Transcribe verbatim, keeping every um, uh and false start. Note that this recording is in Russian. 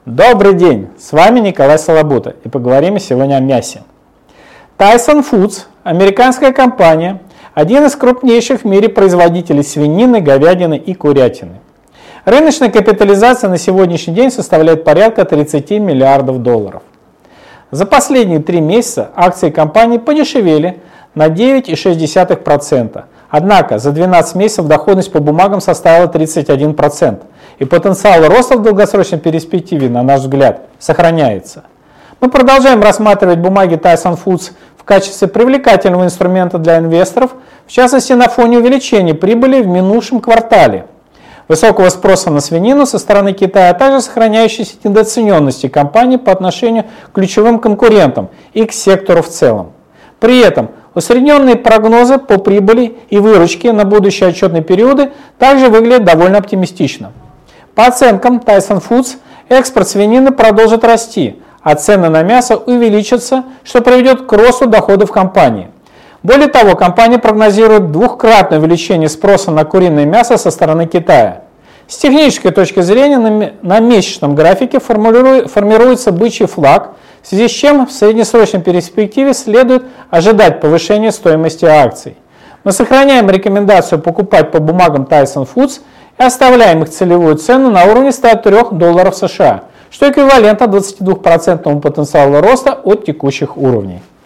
Добрый день, с вами Николай Солобута, и поговорим мы сегодня о мясе. Tyson Foods, американская компания, один из крупнейших в мире производителей свинины, говядины и курятины. Рыночная капитализация на сегодняшний день составляет порядка тридцати миллиардов долларов. За последние три месяца акции компании подешевели на девять целых шесть десятых процента. Однако за двенадцать месяцев доходность по бумагам составила тридцать один процент, и потенциал роста в долгосрочной перспективе, на наш взгляд, сохраняется. Мы продолжаем рассматривать бумаги Tyson Foods в качестве привлекательного инструмента для инвесторов, в частности на фоне увеличения прибыли в минувшем квартале, высокого спроса на свинину со стороны Китая, а также сохраняющейся недооцененности компании по отношению к ключевым конкурентам и к сектору в целом. При этом усредненные прогнозы по прибыли и выручке на будущие отчетные периоды также выглядят довольно оптимистично. По оценкам Tyson Foods, экспорт свинины продолжит расти, а цены на мясо увеличатся, что приведет к росту доходов компании. Более того, компания прогнозирует двухкратное увеличение спроса на куриное мясо со стороны Китая. С технической точки зрения на месячном графике формируется бычий флаг, в связи с чем в среднесрочной перспективе следует ожидать повышения стоимости акций. Мы сохраняем рекомендацию покупать по бумагам Tyson Foods и оставляем их целевую цену на уровне ста трёх долларов США, что эквивалентно двадцати двум процентам потенциала роста от текущих уровней.